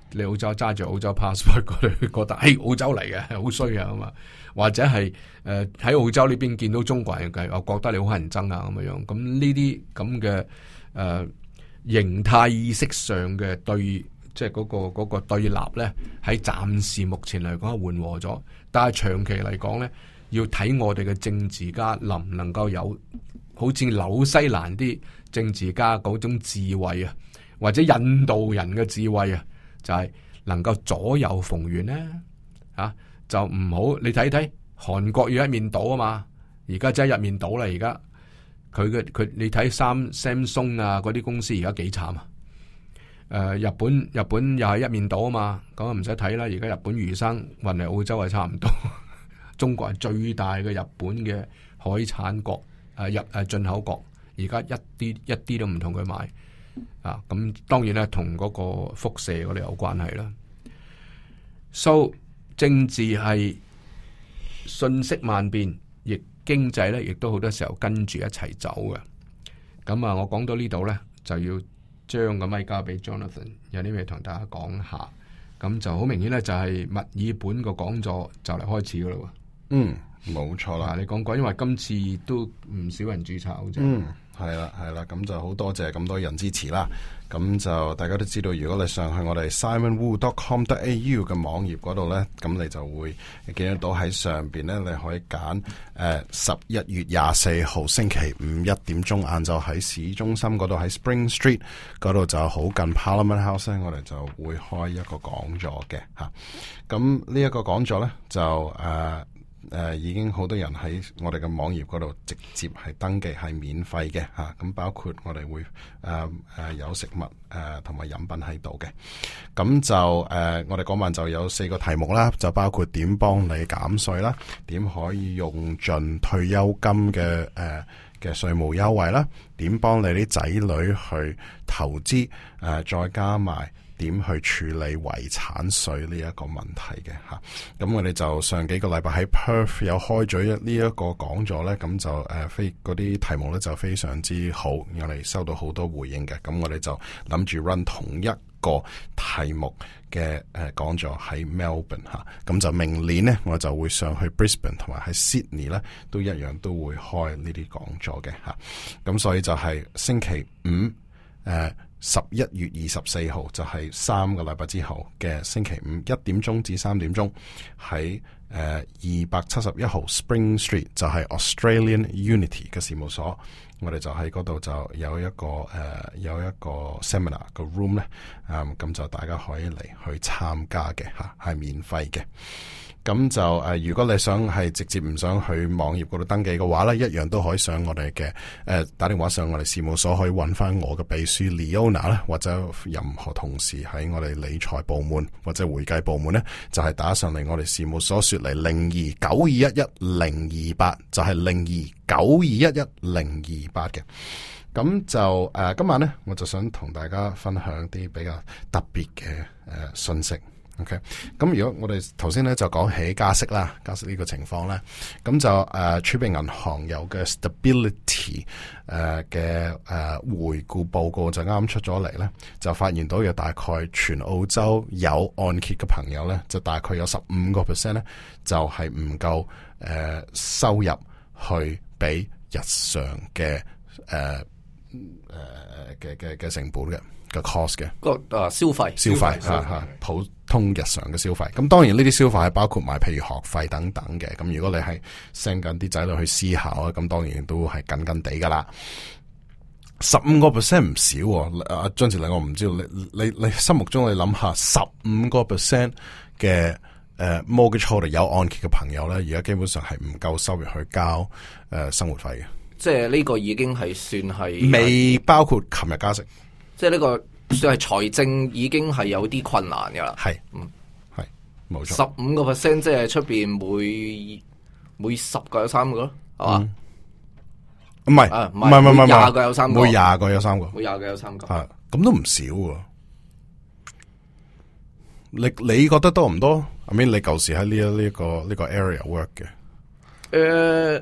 你澳洲揸住澳洲 passport 嗰度覺得誒澳洲嚟嘅好衰啊嘛，或者係誒喺澳洲呢邊見到中國人嘅，我覺得你好乞人憎啊咁樣樣。咁呢啲咁嘅誒形態意識上嘅對，即係嗰個嗰、嗰個對立咧，喺暫時目前嚟講係緩和咗，但係長期嚟講咧，要睇我哋嘅政治家能唔能夠有好似紐西蘭啲政治家嗰種智慧啊，或者印度人嘅智慧啊。就係能夠左右逢源咧，啊就唔好你睇睇韓國要一面倒啊嘛，而家真係一面倒啦，而家佢嘅佢你睇三 Samsung 啊嗰啲公司而家幾慘啊，誒、呃、日本日本又係一面倒啊嘛，咁啊唔使睇啦，而家日本魚生運嚟澳洲係差唔多，中國係最大嘅日本嘅海產國誒入誒進口國，而家一啲一啲都唔同佢買。啊，咁當然咧，同嗰個輻射嗰度有關係啦。So 政治係瞬息萬變，亦經濟咧，亦都好多時候跟住一齊走嘅。咁啊，我講到呢度咧，就要將個咪交俾 Jonathan， 有啲咩同大家講下。咁就好明顯咧，就係墨爾本個講座就嚟開始噶啦。 嗯，冇錯啦。 你講講，因為今次都唔少人註冊好似。 嗯。係啦，係啦，咁就好多謝咁多人支持啦。咁就大家都知道，如果你上去我哋 simon wu dot com dot a u 嘅網頁嗰度咧，咁你就會見得到喺上邊咧，你可以揀誒十一月廿四號星期五一點鐘晏晝喺市中心嗰度喺 Spring Street 嗰度就好近 Parliament House 咧，我哋就會開一個講座嘅吓。咁呢一個講座咧就誒。呃誒、呃，已經好多人喺我哋嘅網頁嗰度直接係登記，係免費嘅吓。咁、啊、包括我哋會誒誒、呃呃、有食物誒同埋飲品喺度嘅。咁就誒、呃，我哋嗰晚就有四個題目啦，就包括點幫你減稅啦，點可以用盡退休金嘅誒嘅稅務優惠啦，點幫你啲仔女去投資誒、呃，再加埋。點去處理遺產稅呢一個問題嘅吓，咁我哋就上幾個禮拜喺 Perth 有開咗一呢一個講座咧，咁就誒非嗰啲題目咧就非常之好，我哋收到好多回應嘅，咁我哋就諗住 run 同一個題目嘅誒講座喺 Melbourne 吓，咁就明年咧我就會上去 Brisbane 同埋喺 Sydney 咧都一樣都會開呢啲講座嘅吓，咁所以就係星期五誒。呃十一月二十四號就係三個禮拜之後嘅星期五一點鐘至三點鐘喺誒二百七十一號 Spring Street 就係 Australian Unity 嘅事務所，我哋就喺嗰度就有一個誒、呃、有一個 seminar 個 room 咧，咁、嗯、就大家可以嚟去參加嘅吓，係免費嘅。咁就誒、呃，如果你想係直接唔想去網頁嗰度登記嘅話咧，一樣都可以上我哋嘅誒打電話上我哋事務所，可以揾翻我嘅秘書 Leona 啦，或者任何同事喺我哋理財部門或者會計部門咧，就係、是、打上嚟我哋事務所說嚟零二九二一一零二八，就係零二九二一一零二八嘅。咁就誒、呃，今晚咧我就想同大家分享啲比較特別嘅誒信息。OK，咁如果我哋頭先咧就講起加息啦，加息呢個情況咧，咁就誒儲備銀行有嘅 stability 誒嘅誒回顧報告就啱出咗嚟咧，就發現到有大概全澳洲有按揭嘅朋友咧，就大概有十五個 percent 咧，就係唔夠誒收入去俾日常嘅誒誒嘅嘅嘅成本嘅。嘅 cost 嘅個誒消費消費吓吓普通日常嘅消費，咁當然呢啲消費係包括埋譬如學費等等嘅，咁如果你係 send 緊啲仔女去私校啊，咁當然都係緊緊地噶啦。十五個 percent 唔少，阿張志禮我唔知道你你你心目中你諗下十五個 percent 嘅誒 mortgage holder 有按揭嘅朋友咧，而家基本上係唔夠收入去交誒、呃、生活費嘅，即係呢個已經係算係未包括琴日加息。 即係呢個算係財政已經係有啲困難噶啦， 係，嗯，係，冇錯。 十五個 percent 即係出邊每每十個有三個咯，係嘛？ 唔係，唔係，唔係，唔係， 廿個有三個， 每廿個有三個， 每廿個有三個， 係，咁都唔少喎。你你覺得多唔多？I mean，你舊時喺呢一呢個呢個 area work 嘅？ 誒，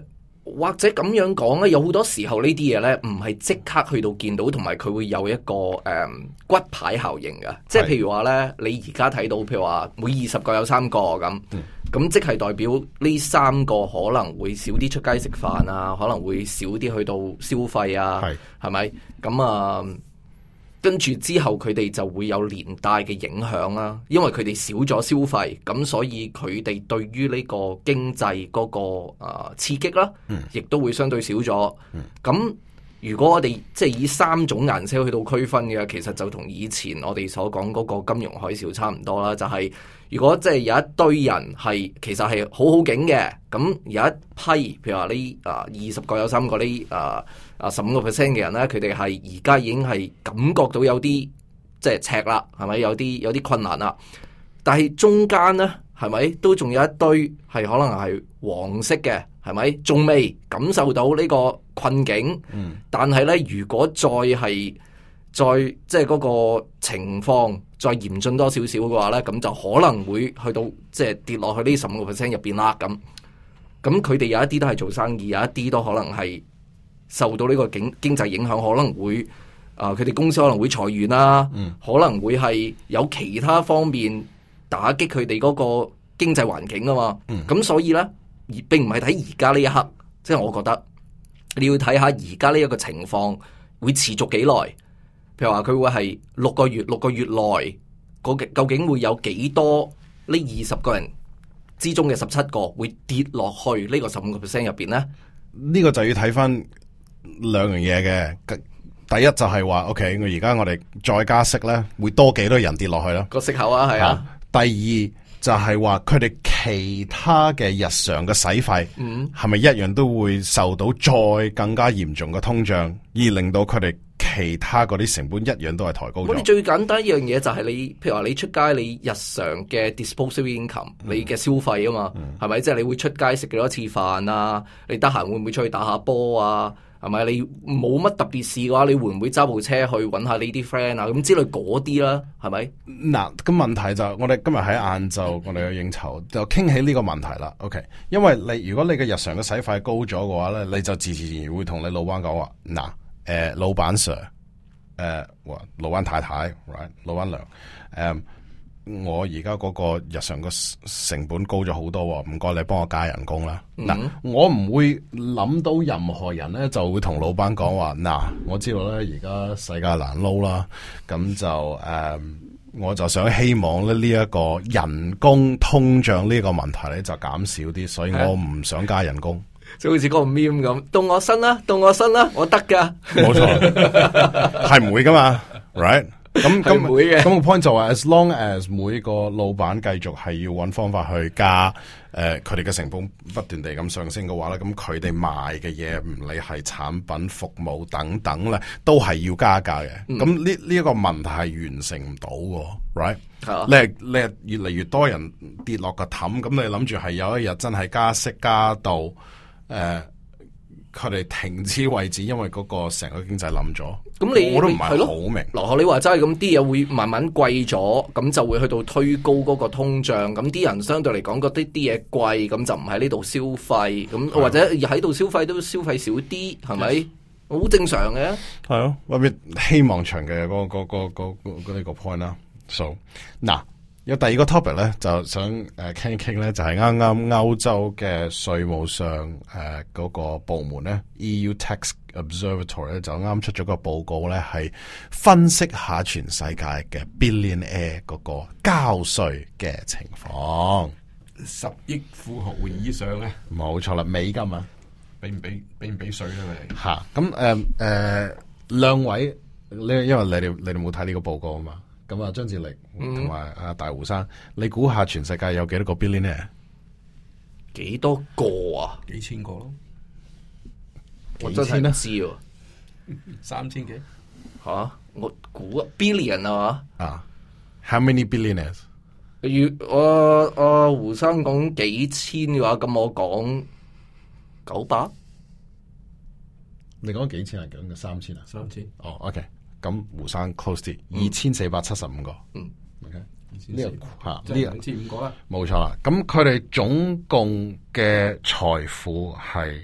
或者咁樣講咧，有好多時候呢啲嘢咧，唔係即刻去到見到，同埋佢會有一個誒、嗯、骨牌效應嘅。即係譬如話咧，你而家睇到，譬如話每二十個有三個咁，咁、嗯、即係代表呢三個可能會少啲出街食飯啊，可能會少啲去到消費啊，係咪？咁啊。跟住之後，佢哋就會有連帶嘅影響啦。因為佢哋少咗消費，咁所以佢哋對於呢個經濟嗰、那個誒、呃、刺激啦，亦都會相對少咗。咁、嗯、如果我哋即係以三種顏色去到區分嘅，其實就同以前我哋所講嗰個金融海嘯差唔多啦。就係、是、如果即係有一堆人係其實係好好景嘅，咁有一批譬如話呢啊二十個有三個呢啊。啊，十五個 percent 嘅人咧，佢哋係而家已經係感覺到有啲即係赤啦，係咪有啲有啲困難啦？但係中間咧，係咪都仲有一堆係可能係黃色嘅，係咪仲未感受到呢個困境？嗯，但係咧，如果再係再即係嗰個情況再嚴峻多少少嘅話咧，咁就可能會去到即係跌落去呢十五個 percent 入邊啦。咁咁佢哋有一啲都係做生意，有一啲都可能係。受到呢個經經濟影響，可能會啊，佢、呃、哋公司可能會裁員啦，嗯、可能會係有其他方面打擊佢哋嗰個經濟環境啊嘛。咁、嗯、所以咧，而並唔係睇而家呢一刻，即、就、係、是、我覺得你要睇下而家呢一個情況會持續幾耐。譬如話佢會係六個月，六個月內究竟會有幾多呢二十個人之中嘅十七個會跌落去呢個十五個 percent 入邊咧？ 呢個就要睇翻。兩樣嘢嘅，第一就係話，OK，我而家我哋再加息咧，會多幾多人跌落去咯？個息口啊，係啊。 第二就係話，佢哋其他嘅日常嘅使費，嗯，係咪一樣都會受到再更加嚴重嘅通脹，而令到佢哋其他嗰啲成本一樣都係抬高咗？ 我哋最簡單一樣嘢就係你，譬如話你出街，你日常嘅 disposable income，嗯、你嘅消費啊嘛，係咪、嗯？即係、就是、你會出街食幾多次飯啊？你得閒會唔會出去打下波啊？係咪？你冇乜特別事嘅話，你會唔會揸部車去揾下你啲 friend 啊？咁之類嗰啲啦，係咪？ 嗱，咁問題就係、我哋今日喺晏晝，我哋有應酬，就傾起呢個問題啦。OK，因為你如果你嘅日常嘅使費高咗嘅話咧，你就自自然然會同你老闆講話，嗱，誒、呃，老闆 Sir，誒、呃，老闆太太 ，right， 老闆娘，誒、呃。我而家嗰個日常嘅成本高咗好多，唔該你幫我加人工啦。嗱、嗯，我唔會諗到任何人咧就會同老闆講話，嗱，我知道咧而家世界難撈啦，咁就誒、嗯，我就想希望咧呢一個人工通脹呢個問題咧就減少啲，所以我唔想加人工。 就好似嗰個 meme 咁，到我身啦，到我身啦，我得噶。 冇錯，係唔會噶嘛 ，right？咁咁咁個 point 就話 ，as long as 每個老闆繼續係要揾方法去加，誒佢哋嘅成本不斷地咁上升嘅話咧，咁佢哋賣嘅嘢唔理係產品、服務等等咧，都係要加價嘅。咁呢呢一個問題係完成唔到嘅 ，right？啊、你係你係越嚟越多人跌落個氹，咁你諗住係有一日真係加息加到誒？呃佢哋停止為止，因為嗰個成個經濟冧咗。咁你我都唔係好明。 羅學你話齋咁啲嘢會慢慢貴咗，咁就會去到推高嗰個通脹。咁啲人相對嚟講覺得啲嘢貴，咁就唔喺呢度消費。咁或者喺度消費都消費少啲，係咪？好正常嘅。 係咯，我咪希望長嘅嗰個嗰個嗰個呢個 point 啦。So 嗱。有第二個 topic 咧，就想誒傾一傾咧，就係啱啱歐洲嘅稅務上誒嗰、呃那個部門咧 ，E U Tax Observatory 咧就啱出咗個報告咧，係分析下全世界嘅 billionaire 嗰個交稅嘅情況。 十億富豪以上咧， 冇錯啦，美金啊， 俾唔俾俾唔俾稅咧？佢吓咁誒誒，兩位呢？因為你哋你哋冇睇呢個報告啊嘛。咁啊，張志力同埋阿大胡生，嗯、你估下全世界有幾多個 billionaire？ 幾多個啊？ 幾千個咯？ 我真係唔知喎， 三千幾？ 吓、啊？我估 billion 啊嘛？ 啊 ，How many billionaires？ 如我阿胡生講幾千嘅話，咁我講九百。 你講幾千啊？講嘅三千啊？ 三千。 哦、oh，OK。咁胡生 close 啲，二千四百七十五個。嗯，OK，呢個吓呢個兩千五個啦， 冇錯啦。咁佢哋總共嘅財富係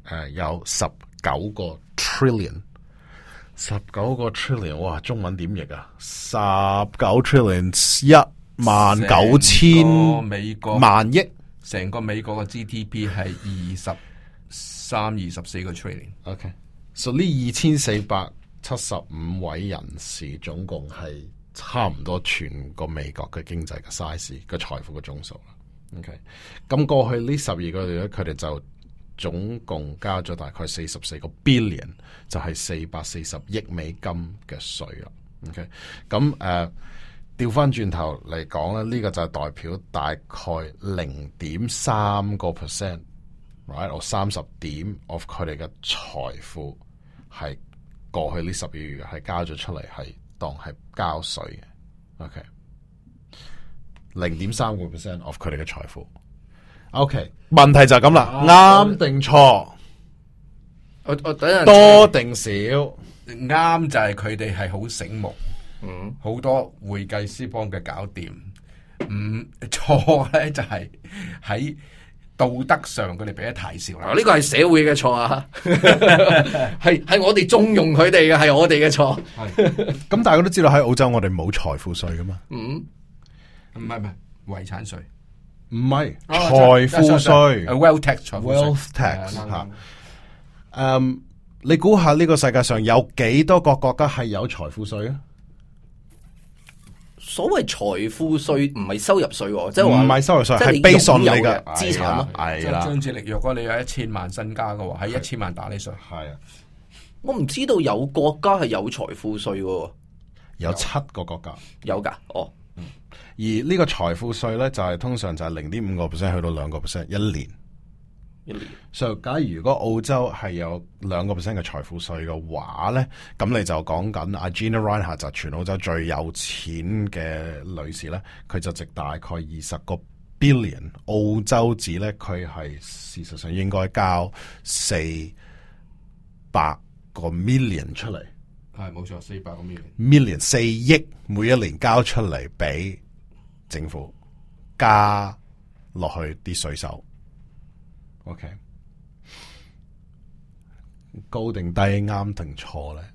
誒有十九個 trillion， 十九個 trillion， 哇，中文點譯啊？十九 trillion 一萬九千美國萬億， 成個美國嘅 G D P 係二十三、二十四個 trillion。 OK， 所以呢二千四百七十五位人士總共係差唔多全個美國嘅經濟嘅 size 嘅財富嘅總數啦。OK， 咁過去呢十二個月咧，佢哋就總共交咗大概四十四個 billion， 就係四百四十億美金嘅稅啦。OK， 咁誒調翻轉頭嚟講咧，呢、這個就係代表大概零點三個 percent，right， 或三十點 of 佢哋嘅財富係過去呢十二個月係交咗出嚟，係當係交稅嘅。OK， 零點三個 percent of 佢哋嘅財富。OK， 問題就係咁啦，啱定錯？ 我我等陣多定少？ 啱就係佢哋係好醒目， 嗯， 好多會計師幫佢搞掂。唔錯咧，就係喺道德上佢哋俾得太少啦。 呢個係社會嘅錯啊，係係我哋縱容佢哋嘅，係我哋嘅錯。 咁大家都知道喺澳洲我哋冇財富稅噶嘛？ 嗯， 唔係唔係遺產稅。 唔係財富稅 ，wealth tax， wealth tax 吓。嗯，你估下呢個世界上有幾多個國家係有財富稅啊？ 所謂財富稅唔係收入稅，即係話唔係收入稅，係 based on 你嘅資產咯。 係啦， 張志力，若果你有一千萬身家嘅話，喺一千萬打你稅。 係啊， 我唔知道有國家係有財富稅嘅， 有七個國家有噶，哦。 而呢個財富稅咧，就係、是、通常就係零點五個 percent 去到兩個 percent 一年。 一年。 所以假如如果澳洲係有兩個 percent 嘅財富稅嘅話咧，咁你就講緊阿 Gina Rinehart 就全澳洲最有錢嘅女士咧，佢就值大概二十個 billion 澳洲紙咧，佢係事實上應該交四百個 million 出嚟。 係冇錯，四百個 million million 四億每一年交出嚟俾政府加落去啲稅收。OK， 高定低，啱定錯咧？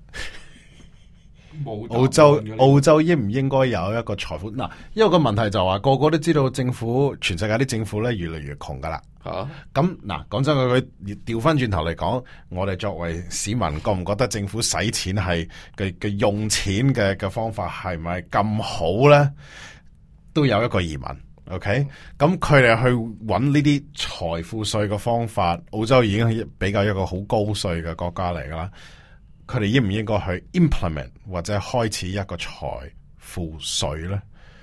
澳洲澳洲應唔應該有一個財富？嗱，因為個問題就話個個都知道政府，全世界啲政府咧越嚟越窮噶啦。吓，咁嗱，講真佢佢調翻轉頭嚟講，我哋作為市民，覺唔覺得政府使錢係嘅嘅用錢嘅嘅方法係咪咁好咧？都有一個疑問。OK，咁佢哋去揾呢啲財富稅嘅方法，澳洲已經係比較一個好高稅嘅國家嚟噶啦。佢哋應唔應該去 implement 或者開始一個財富稅咧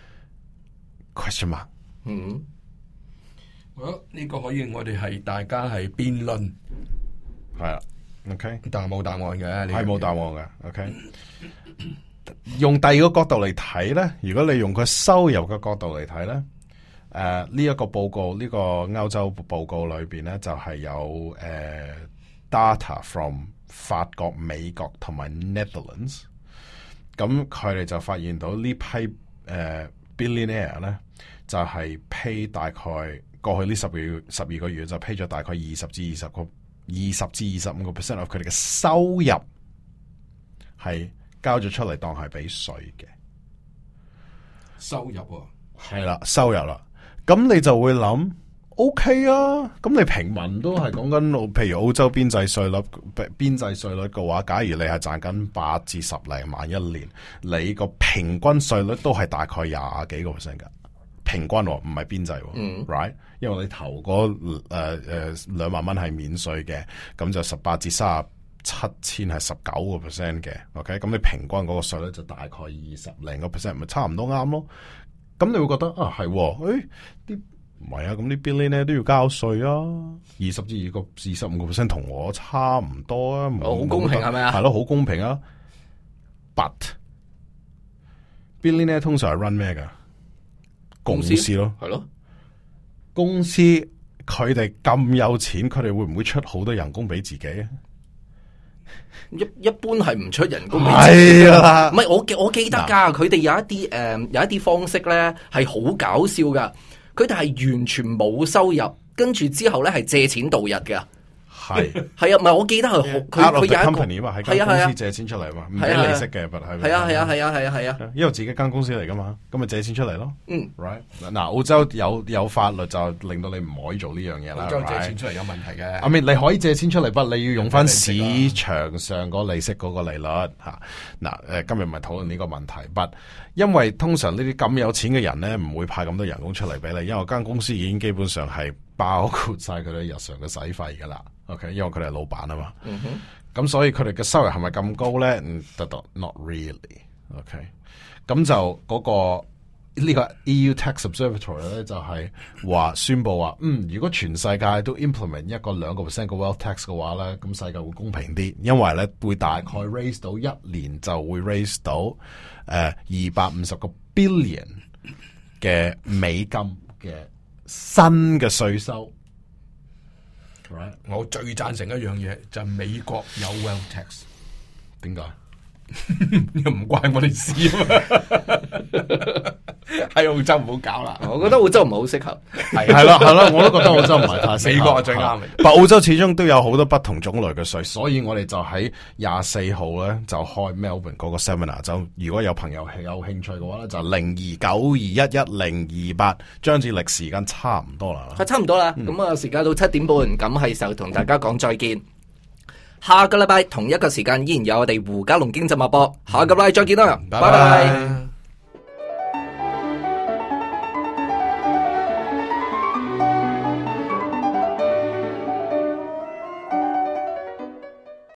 ？Question mark。 嗯，好，呢個可以我哋係大家係辯論， 係啦。OK， 但係冇答案嘅， 係冇答案嘅。OK，用第二個角度嚟睇咧，如果你用佢收入嘅角度嚟睇咧。誒，呢一個報告，呢、這個歐洲報告裏邊咧，就係、是、有誒、uh, data from 法國、美國同埋 Netherlands。咁佢哋就發現到呢批誒、uh, billionaire 咧，就係、是、pay 大概過去呢十個月十二個月就 pay 咗大概二十至二十個二十至二十五個 percent of 佢哋嘅收入係交咗出嚟當係俾稅嘅收入喎、啊， 係啦，收入啦。咁你就會諗 ，OK 啊，咁你平民都係講緊，譬如澳洲邊際稅率，邊際稅率嘅話，假如你係賺緊八至十零萬一年，你個平均稅率都係大概廿幾個 percent 噶，平均唔係邊際、嗯、，right？因為你頭嗰誒誒兩萬蚊係免稅嘅，咁就十八至三十七千係十九個 percent 嘅 ，OK？咁你平均嗰個稅率就大概二十零個 percent， 咪差唔多啱咯。咁你會覺得啊係，誒啲唔係啊，咁啲 billionaire 都要交稅啊，二十至二個二十五個 percent 同我差唔多啊， 好、哦、公平係咪啊？ 係咯，好公平啊。But billionaire 通常係 run 咩噶？公司咯，係咯，公司佢哋咁有錢，佢哋會唔會出好多人工俾自己啊？ 一一般係唔出人工俾自己啦， 唔係我我記得噶，佢哋有一啲誒、呃、有一啲方式咧係好搞笑噶，佢哋係完全冇收入，跟住之後咧係借錢度日噶。 係係啊，唔係我記得係佢佢有一個 company 嘛，喺間公司借錢出嚟嘛，唔俾利息嘅，但係係啊係啊係啊係啊係啊， 因為自己間公司嚟噶嘛，咁咪借錢出嚟咯。 嗯 ，right 嗱，澳洲有有法律就令到你唔可以做呢樣嘢啦。 澳洲借錢出嚟有問題嘅。 I mean 你可以借錢出嚟，不過你要用翻市場上個利息嗰個利率吓。嗱，誒今日唔係討論呢個問題，不因為通常呢啲咁有錢嘅人咧，唔會派咁多人工出嚟俾你，因為間公司已經基本上係包括晒佢哋日常嘅使費噶啦。OK， 因為佢哋係老闆啊嘛。嗯哼。咁所以佢哋嘅收入係咪咁高咧？嗯，得得 not really。OK， 咁就嗰、那個呢、這個 E U Tax Observatory 咧，就係話宣布話，嗯，如果全世界都 implement 一個兩個 percent 嘅 wealth tax 嘅話咧，咁世界會公平啲，因為咧會大概 raise 到一年就會 raise 到誒二百五十個 billion 嘅美金嘅新嘅稅收。 Right. 我最贊成一樣嘢就係、是、美國有 wealth tax， 點解？ 又唔關我哋事啊嘛！喺澳洲唔好搞啦， 我覺得澳洲唔係好適合。 係係咯係咯，我都覺得澳洲唔係太適合。 美國係最啱嘅。 但澳洲始終都有好多不同種類嘅稅，所以我哋就喺廿四號咧就開 Melbourne 嗰個 seminar。就如果有朋友係有興趣嘅話咧，就零二九二一一零二八。張志力時間差唔多啦， 係差唔多啦。咁啊、嗯，時間到七點半，咁係時候同大家講再見。下個禮拜同一個時間依然有我哋胡嘉龍經濟脈搏，下個禮拜再見啦，拜拜。